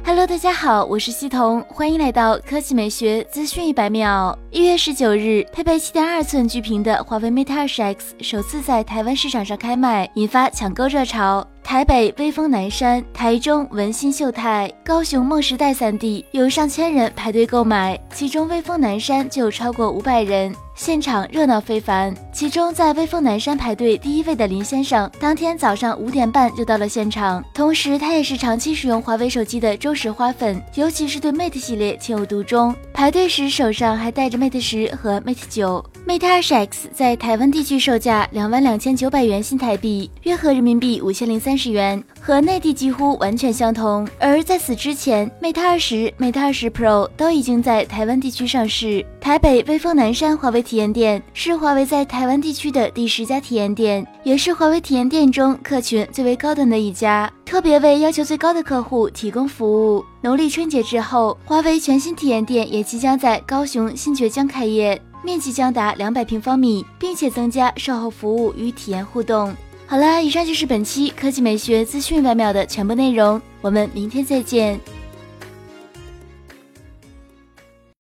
Hello， 大家好，我是西彤，欢迎来到科技美学资讯100秒。1月19日，配备 7.2 寸巨屏的华为 Mate 20X 首次在台湾市场上开卖，引发抢购热潮。台北威风南山、台中文心秀泰、高雄梦时代3地有上千人排队购买，其中威风南山就有超过500人。现场热闹非凡，其中在威风南山排队第1位的林先生，当天早上5点半就到了现场，同时他也是长期使用华为手机的忠实花粉，尤其是对 Mate 系列情有独钟。排队时手上还带着 Mate 10和 Mate 9。Mate 20X 在台湾地区售价22900元新台币，约合人民币5030元，和内地几乎完全相同。而在此之前 ，Mate 20、Mate 20 Pro 都已经在台湾地区上市。台北威风南山华为体验店是华为在台湾地区的第10家体验店，也是华为体验店中客群最为高端的一家，特别为要求最高的客户提供服务。农历春节之后，华为全新体验店也即将在高雄新崛江开业，面积将达200平方米，并且增加售后服务与体验互动。好了，以上就是本期科技美学资讯100秒的全部内容，我们明天再见。